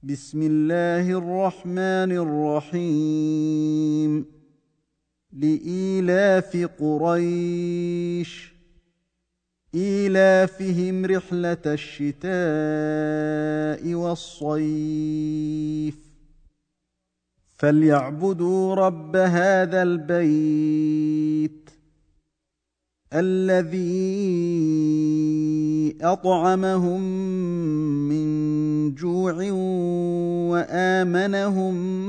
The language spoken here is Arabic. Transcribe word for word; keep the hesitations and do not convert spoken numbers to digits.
بسم الله الرحمن الرحيم لإيلاف قريش إيلافهم رحلة الشتاء والصيف فليعبدوا رب هذا البيت الذي أطعمهم من جوع وآمنهم